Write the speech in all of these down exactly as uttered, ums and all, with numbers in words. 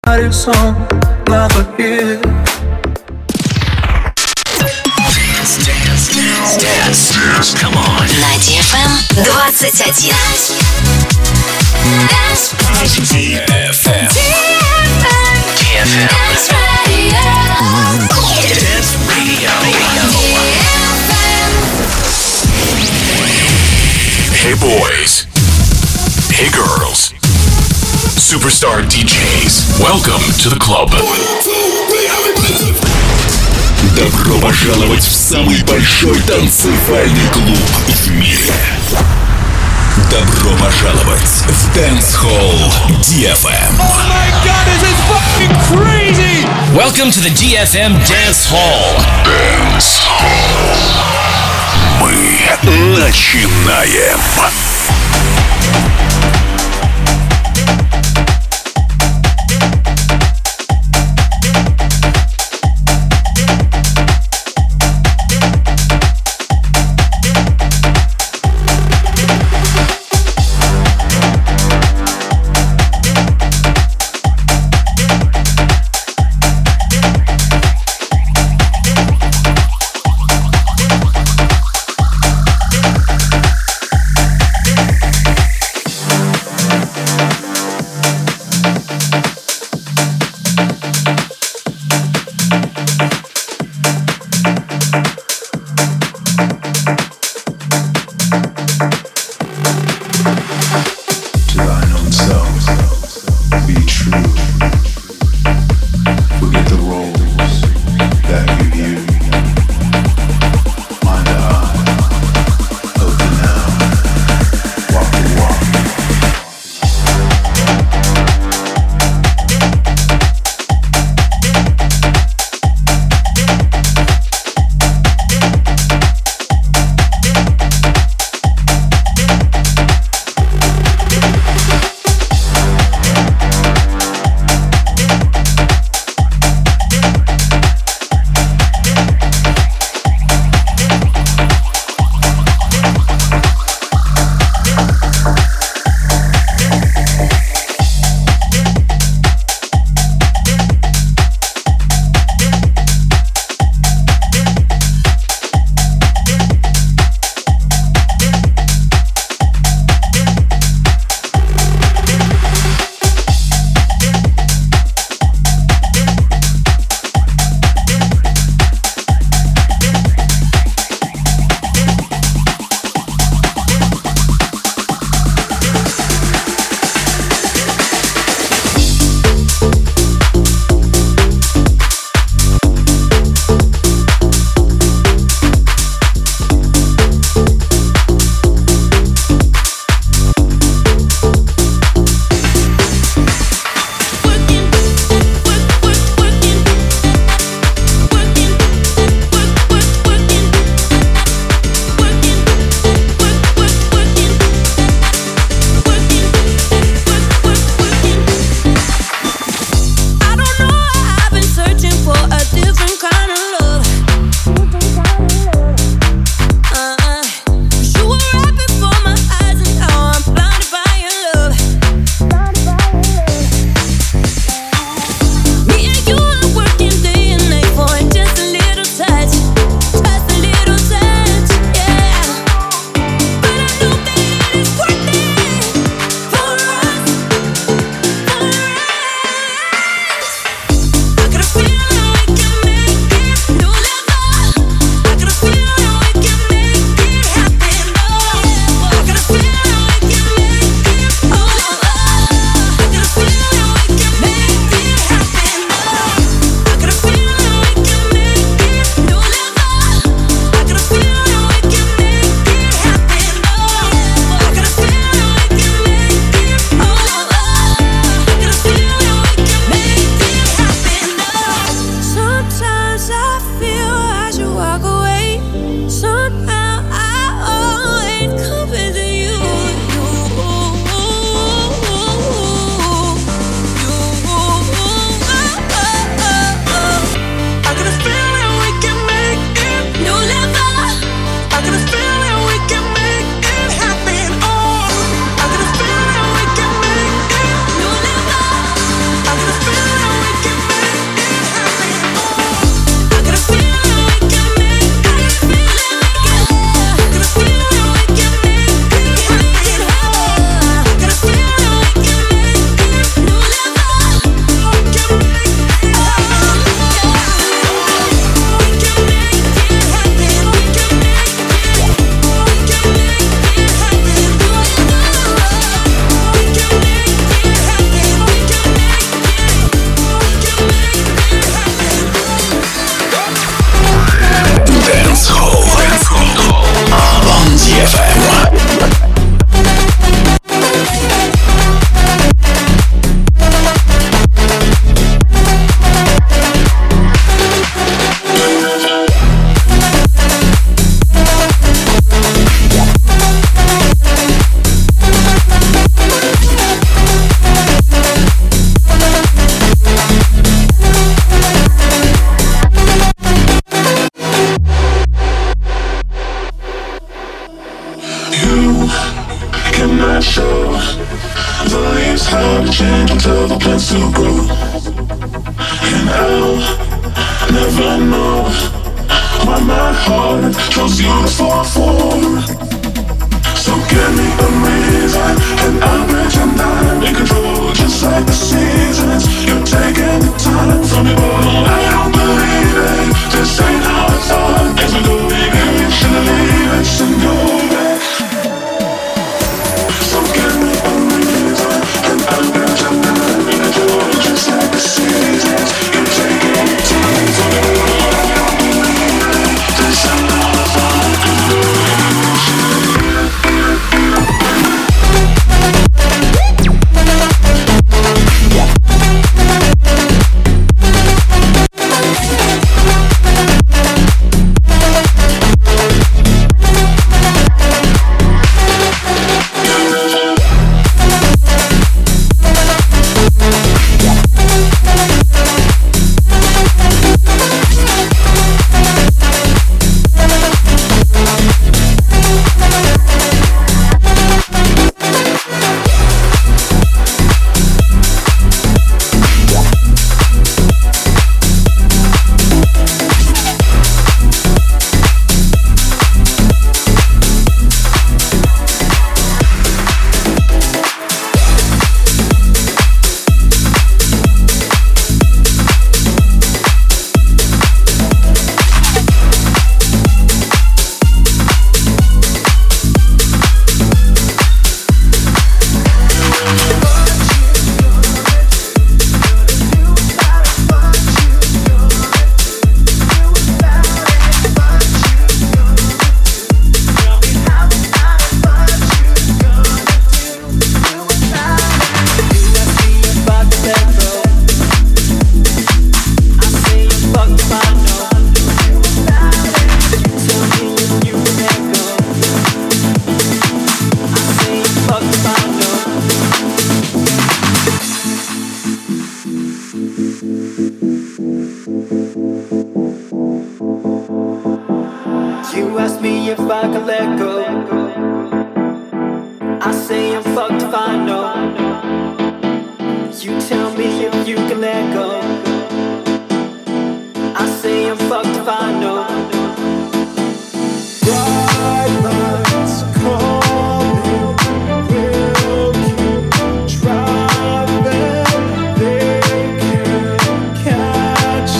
Song на хит. Dance, dance, dance, dance, dance. Come on. На ди эф эм двадцать один. ди эф эм. ди эф эм. Dance Radio. Hey boys. Hey girls. Superstar ди джейс. Welcome to the club. Добро пожаловать в самый большой танцевальный клуб в мире. Добро пожаловать в Dance Hall ди эф эм. Oh my god, this is fucking crazy! Welcome to the ди эф эм Dance Hall. Dance Hall. Мы начинаем. And I'll never know why my heart chose you to fall for. So give me a reason, and I'll bet you're not in control. Just like the seasons, you're taking the time from me. Oh, I don't believe it. This ain't how I thought. As we go, baby, you shouldn't leave it. So go back. So give me a reason, and I'll bet you're not in control. Just like the seasons, you're taking the time from me. Oh, I don't believe it. This ain't how I thought. As we go, baby, you shouldn't leave it.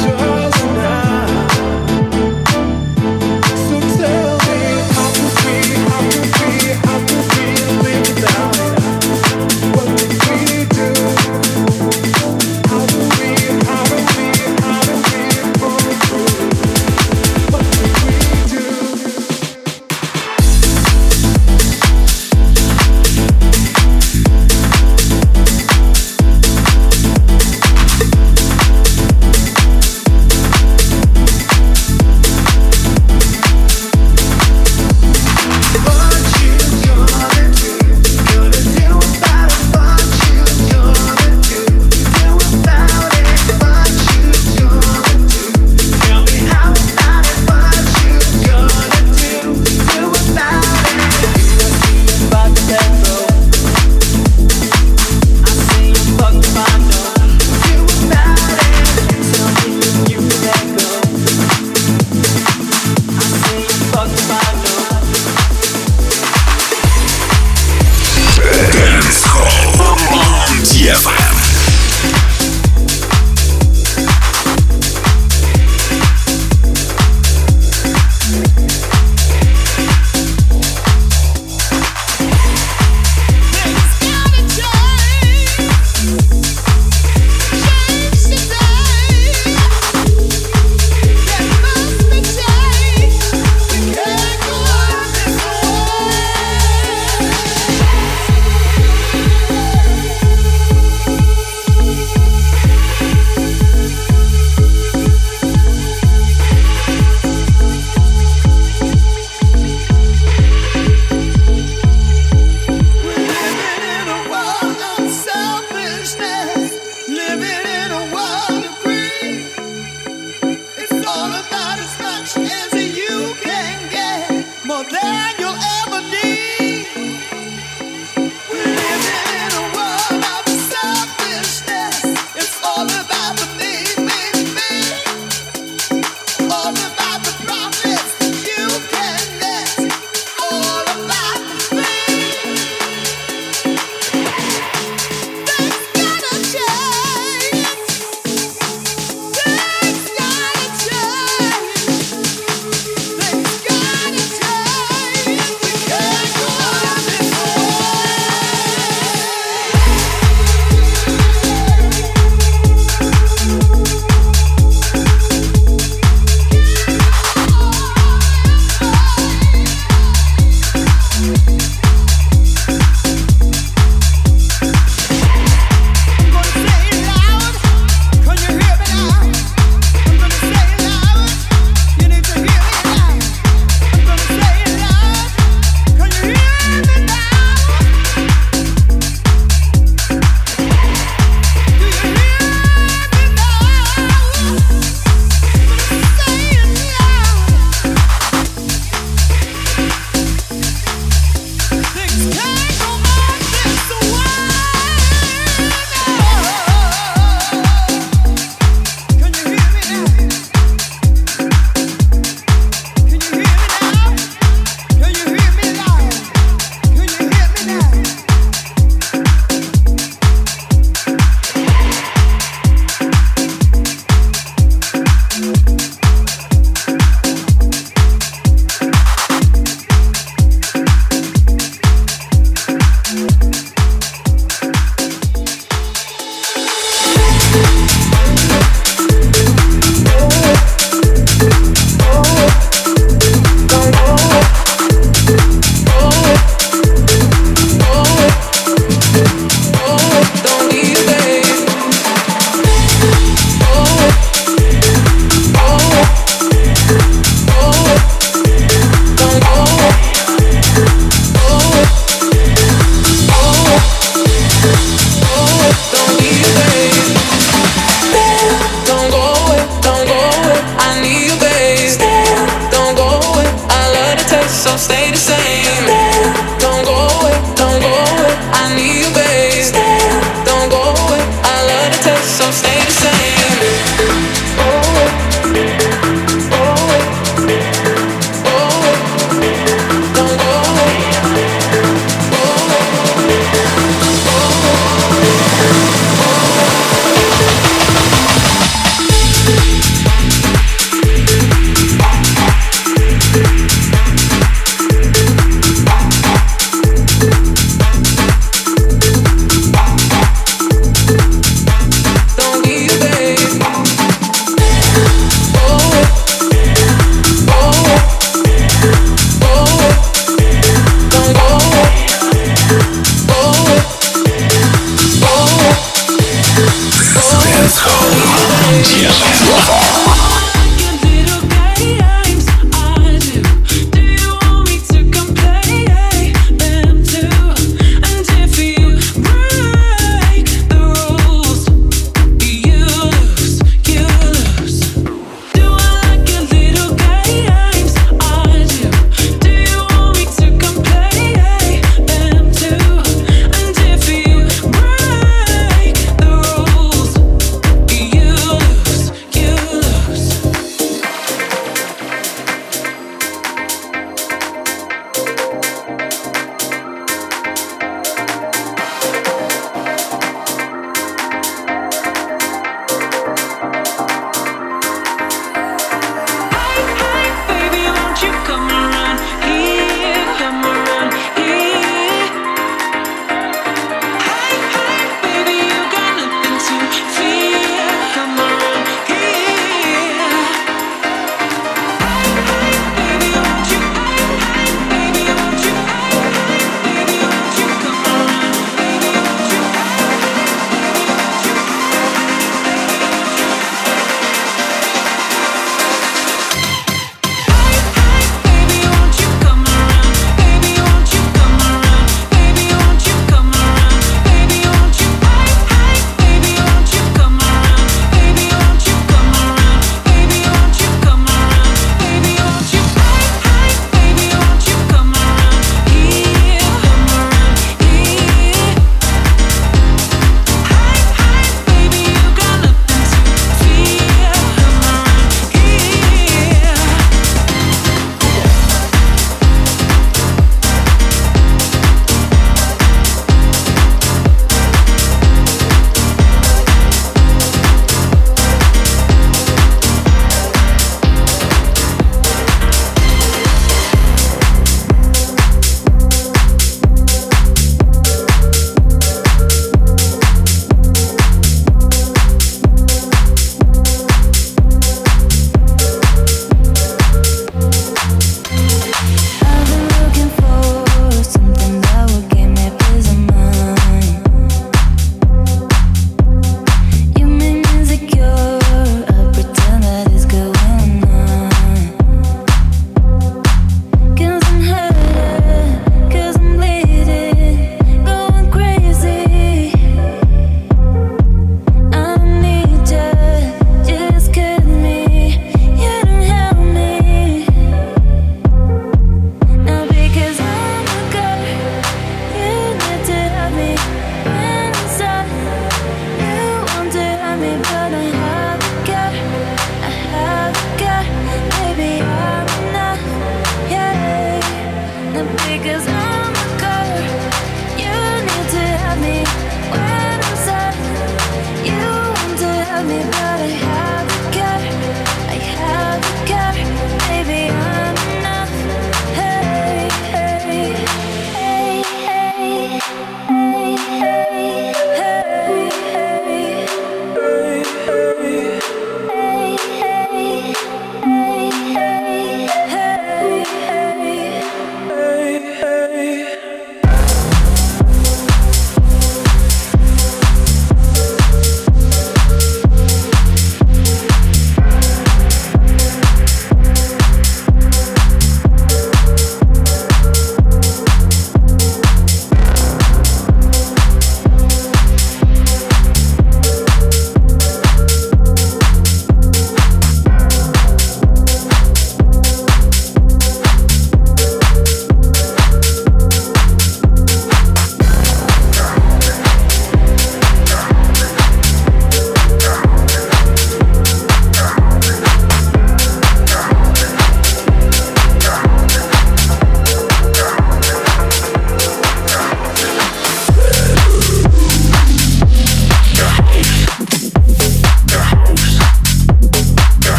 So tell me how to feel.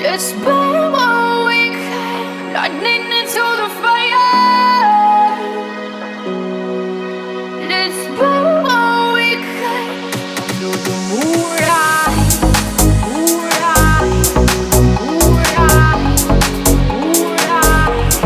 Let's burn what we can, lightning into the fire. Let's burn what we can under the moonlight, moonlight, moonlight, moonlight,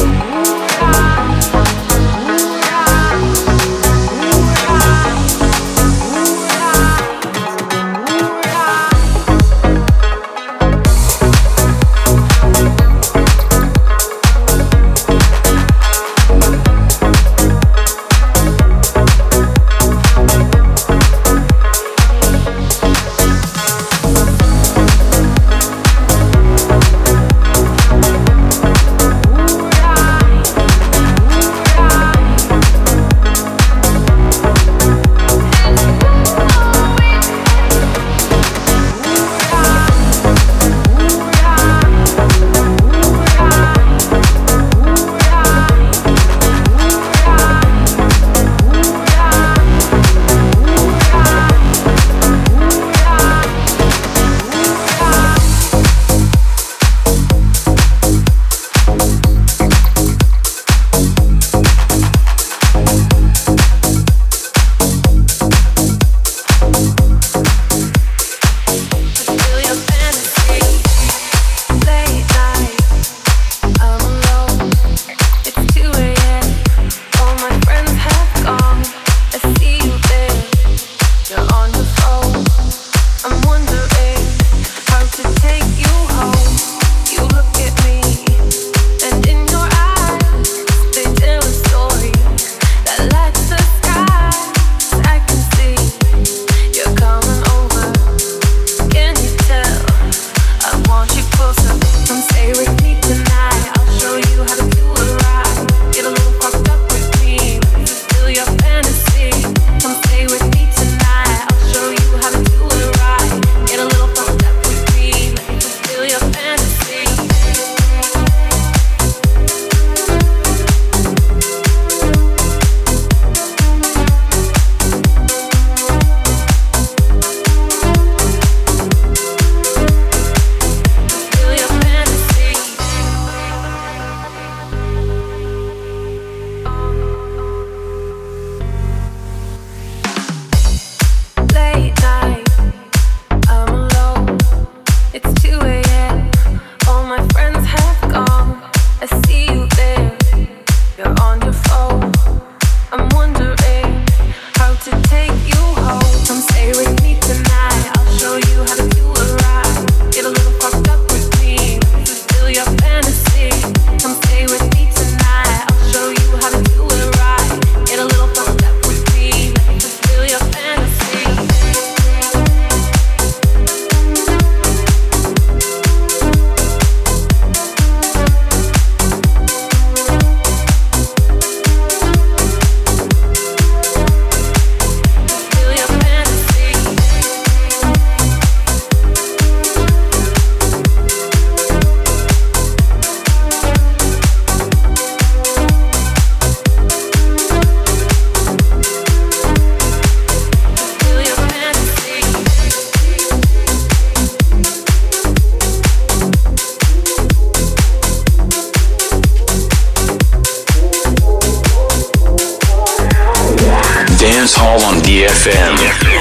Dance Hall on D F M.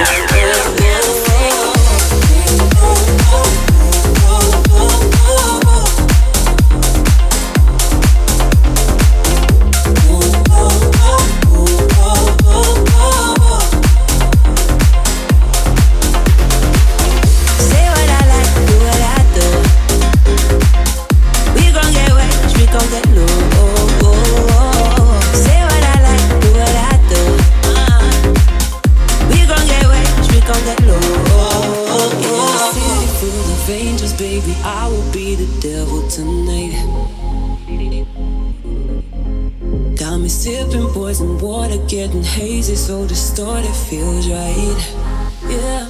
Getting hazy, so distorted, feels right. Yeah.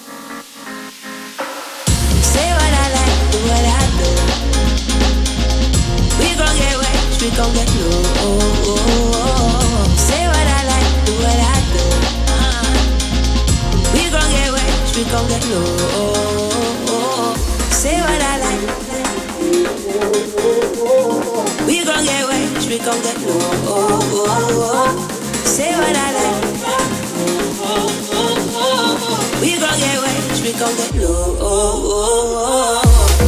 Say what I like, do what I do. We gon' get wet, we gon' get low. Say what I like, do what I do. Uh, we gon' get wet, we gon' get low. Say what I like. gon' get low. Say what I like. We gon' get rich, we gon' get low.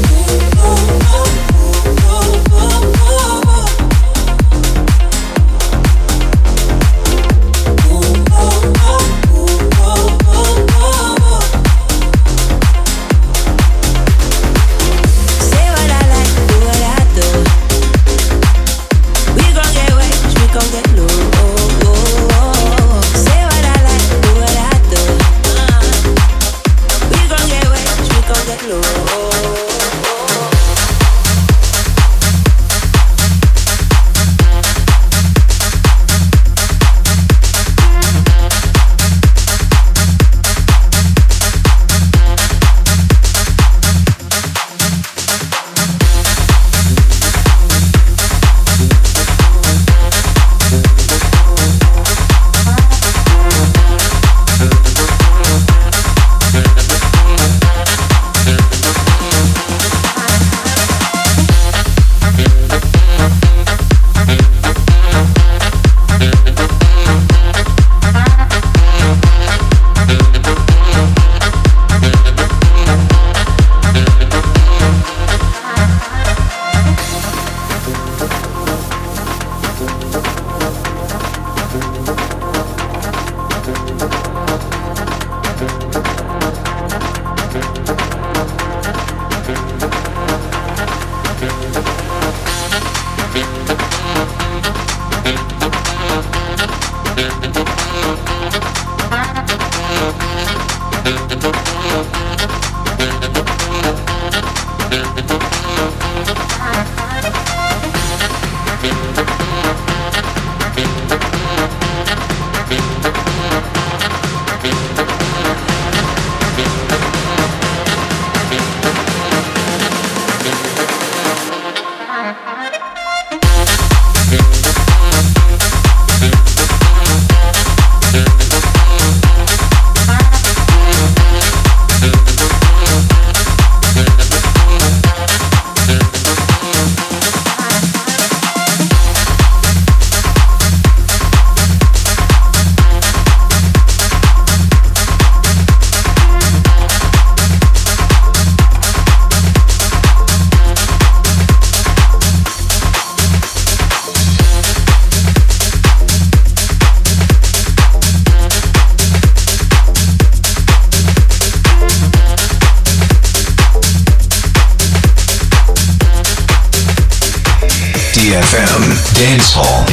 D F M Dance Hall.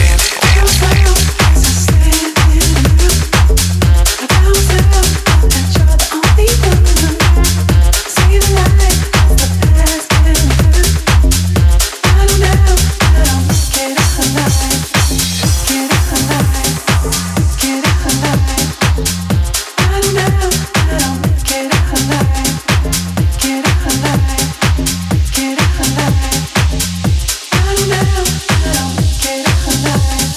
Get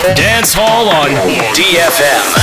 Dance Hall on D F M.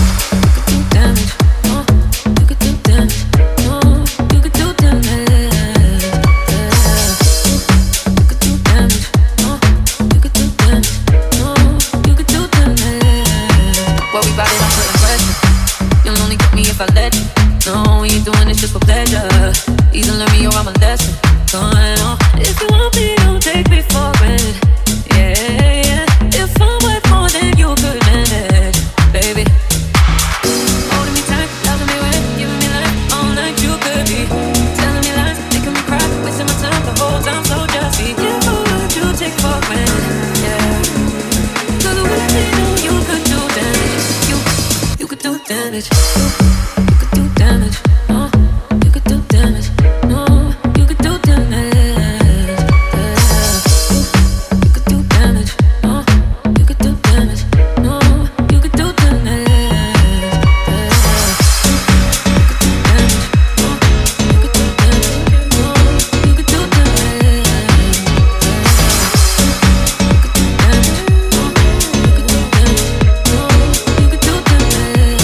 If I let you know you're doing this just for pleasure, either learn me or I'm a lesson going on. If you want me, don't take me for granted. Yeah, yeah. If I'm worth more than you could manage, baby. Holding me tight, loving me right, giving me life all night. You could be telling me lies, making me cry, wasting my time the whole time. So just be careful what you take for granted. Yeah. Cause with me, know you could do damage. You, you could do damage. Damage, oh, you could do damage, no, you could do damage, yeah. You could do damage, oh, you could do damage, no, you could do damage, yeah. You could do damage, oh, you could do damage, no, you could do damage, no, you could do damage.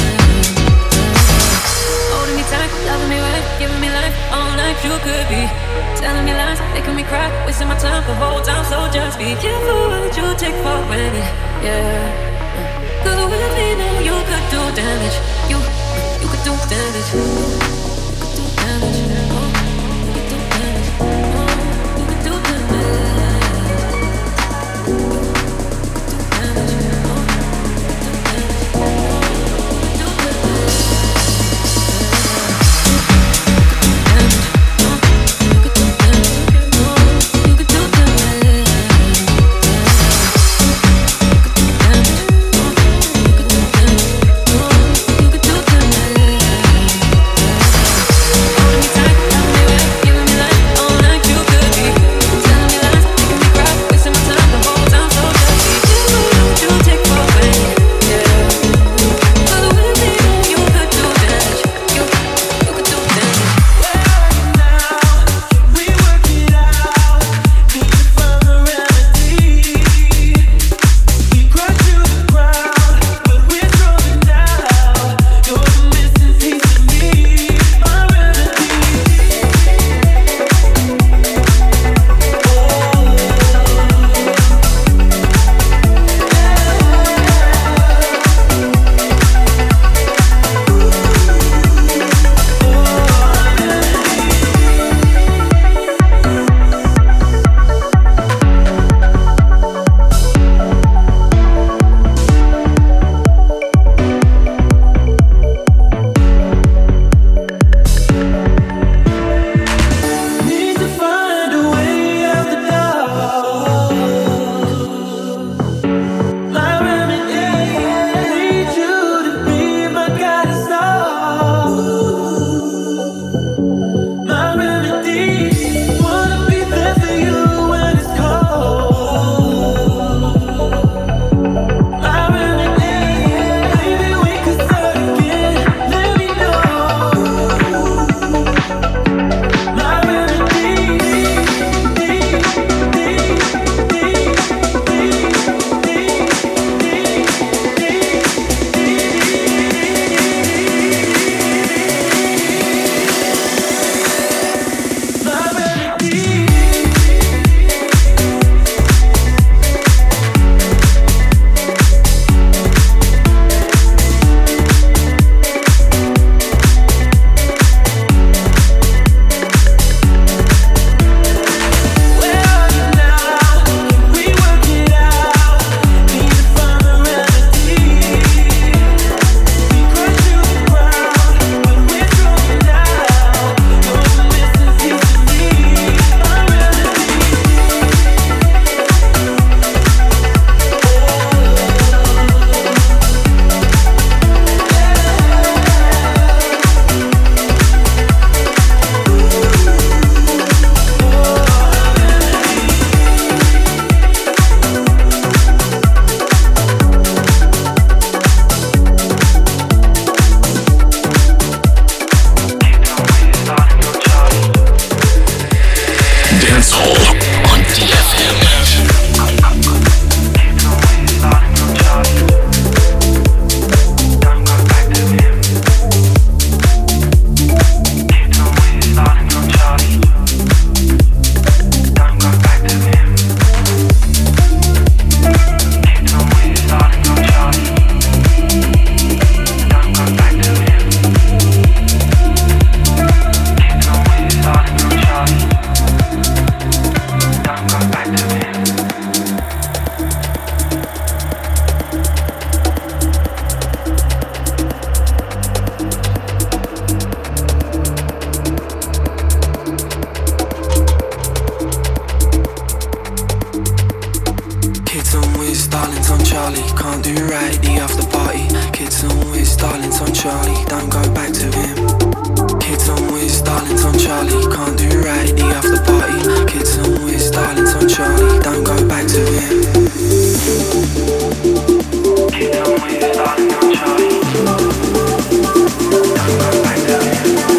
Holding me tight, loving me right, giving me life all night. You could be telling me lies, making me cry, wasting my time the whole time. So just be careful what you take for granted, yeah. Cause with me, know you could do damage. You, you could do damage. You could do damage. Oh, you could do damage. Oh, you could do damage. You could do damage. Oh, you could do damage. Charlie, can't do right, the after party. Kids on whiz, darlings on Charlie, don't go back to him. Kids on whiz, darlings on Charlie, can't do right, the after party. Kids on whiz, darlings on Charlie, don't go back to him. Kids on whiz, darlings on Charlie, don't go back to him.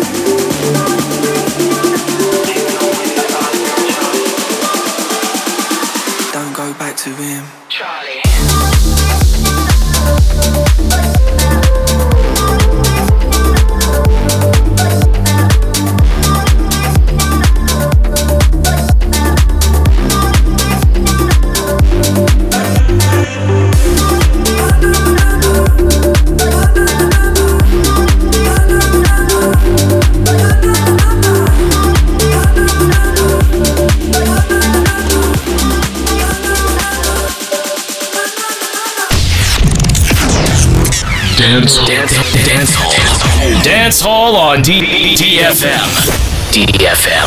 Kids on whiz, darlings on Charlie, don't go back to him. Charlie. Dance, dance, dance hall, dance hall on D D F M. D D F M.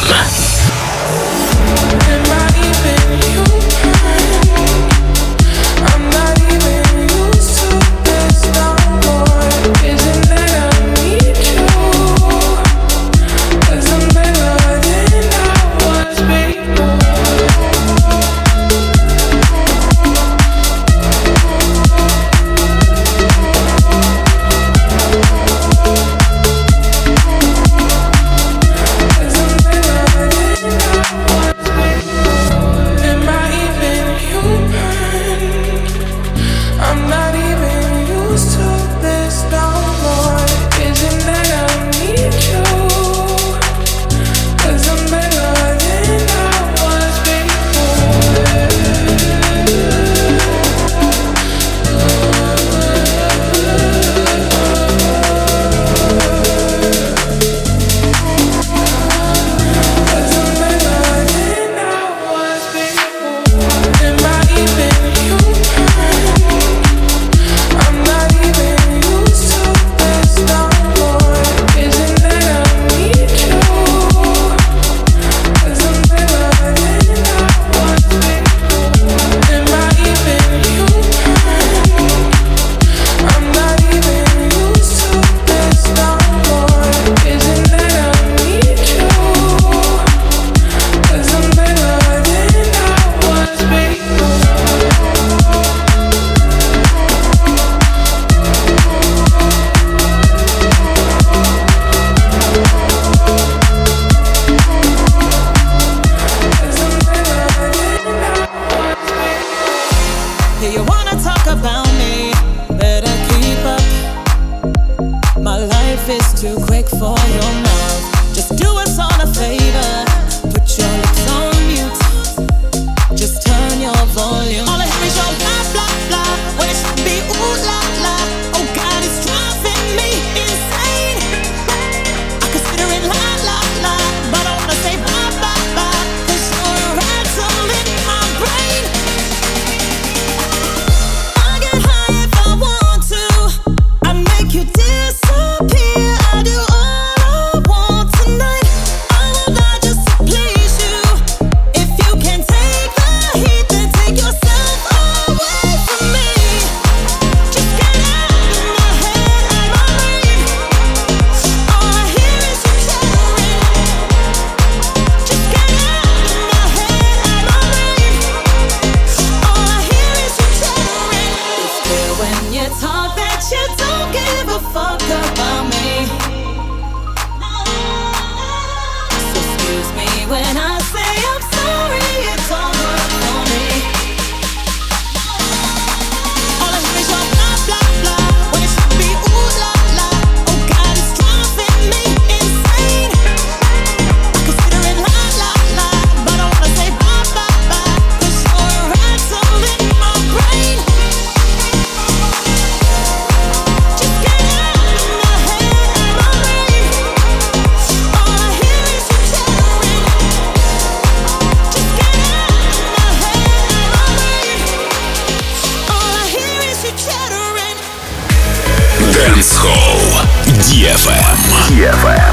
ди эф эм. ди эф эм.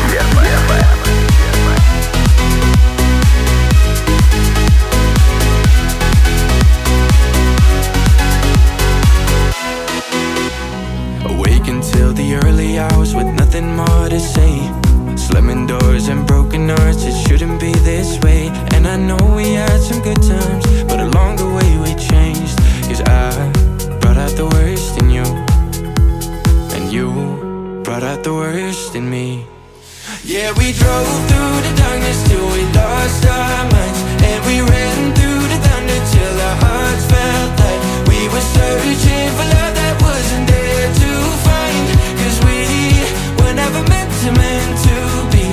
And I know we had some good times, but along the way we changed. Cause I brought out the worst in you, and you brought out the worst in me. Yeah, we drove through the darkness till we lost our minds, and we ran through the thunder till our hearts felt like we were searching for love that wasn't there to find. Cause we were never meant to, meant to be.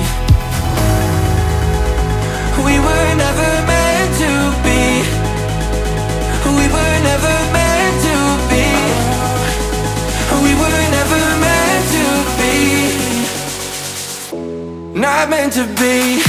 We were never meant to be. We were never meant to be. We were never meant to be. Not meant to be.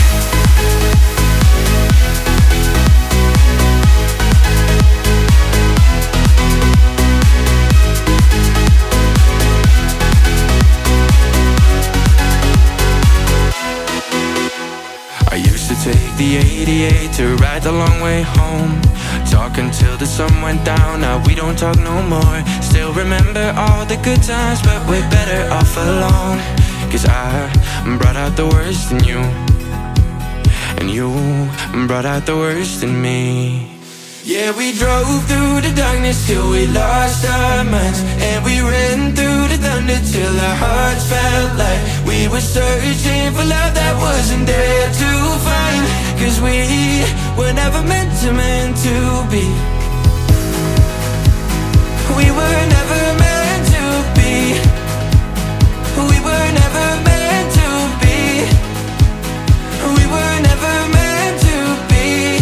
I used to take the eighty-eight to ride the long way home, talk until the sun went down. Now we don't talk no more. Still remember all the good times, but we're better off alone. Cause I brought out the worst in you, and you brought out the worst in me. Yeah, we drove through the darkness till we lost our minds, and we ran through the thunder till our hearts felt like we were searching for love that wasn't there to find. Cause we were never meant to, meant to be. We were never meant to be. We were never meant to be. We were never meant to be.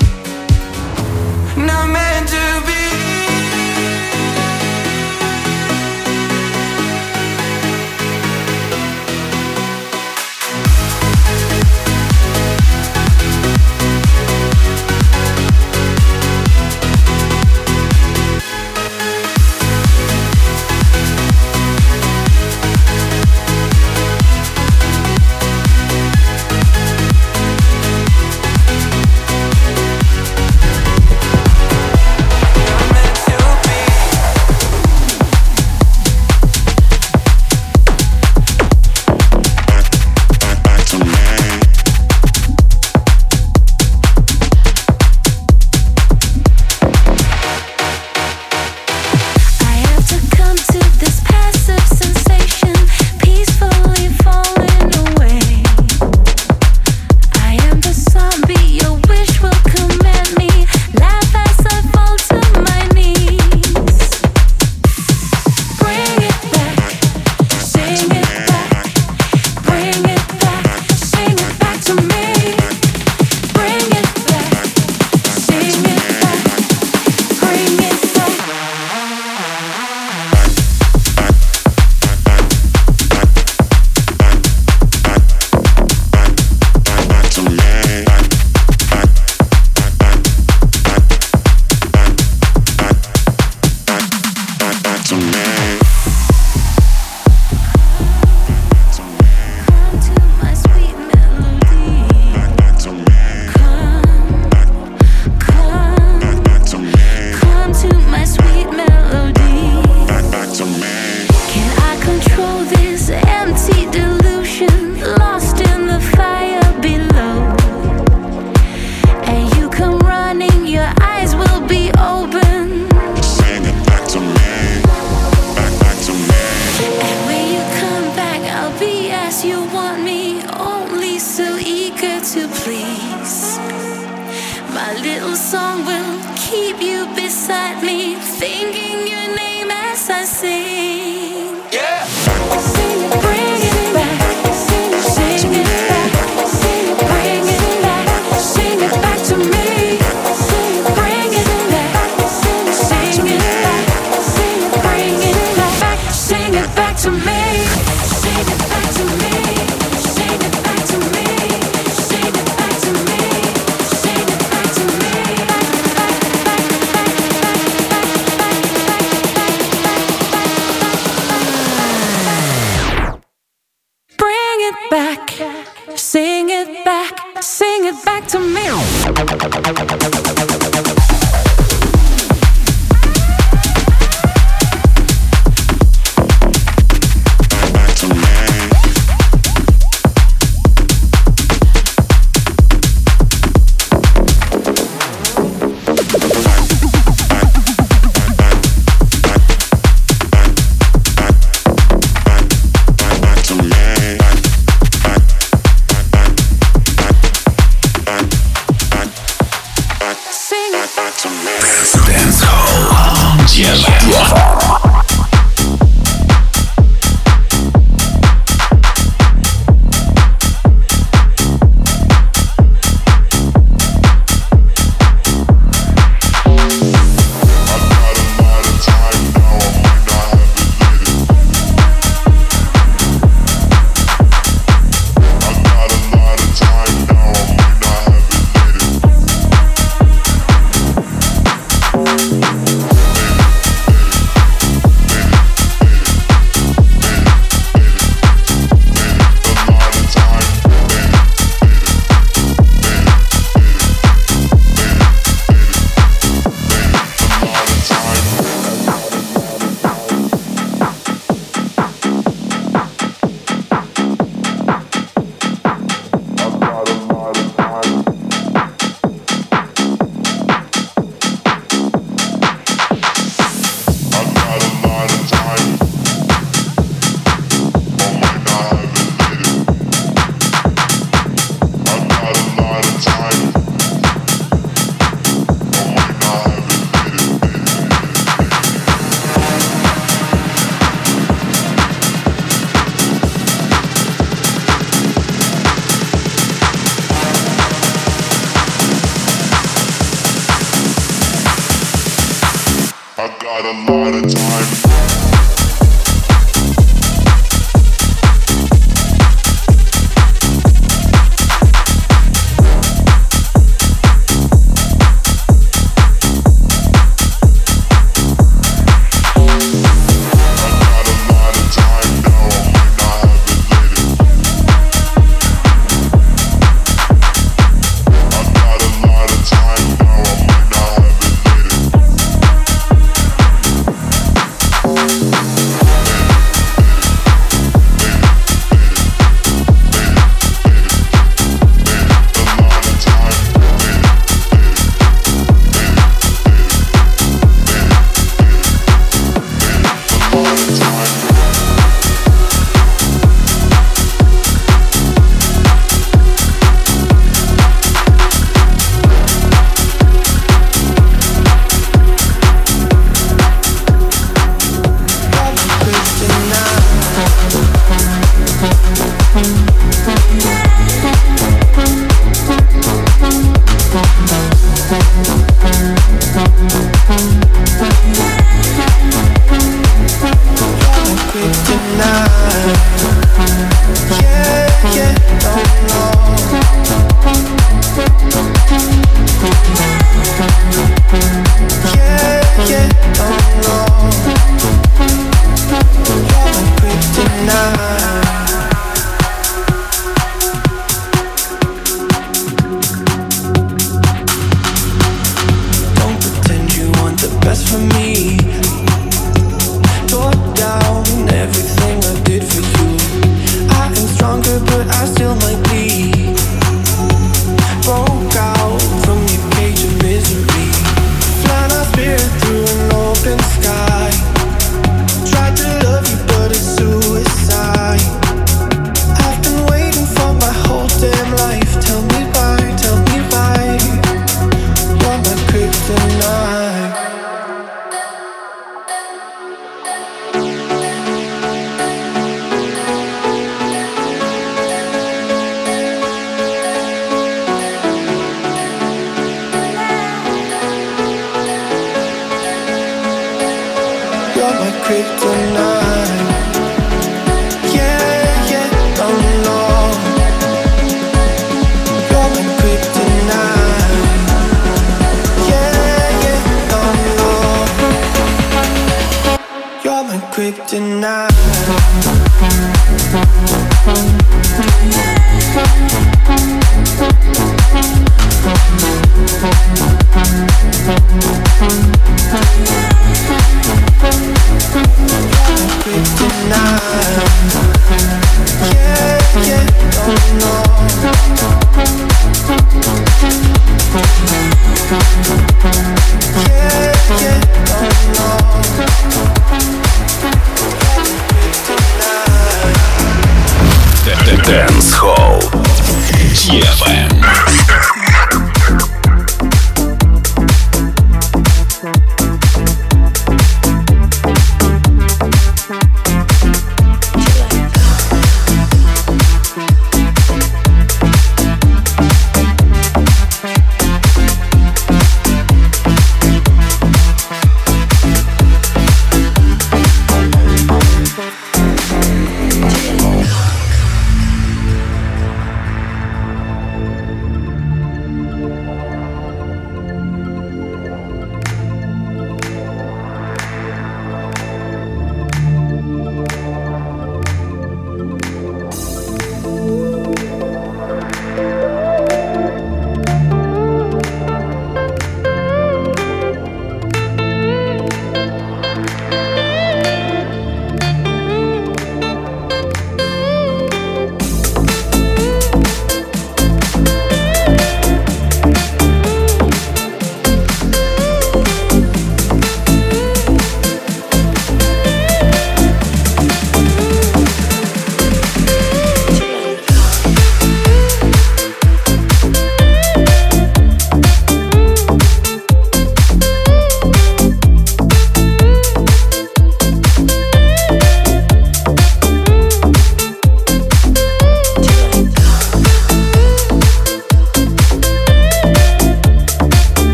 Not meant to be.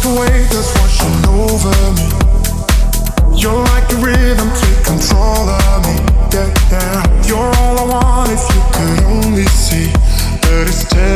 the wave that's washing over me. You're like the rhythm, take control of me. Yeah, yeah. You're all I want if you could only see that it's taking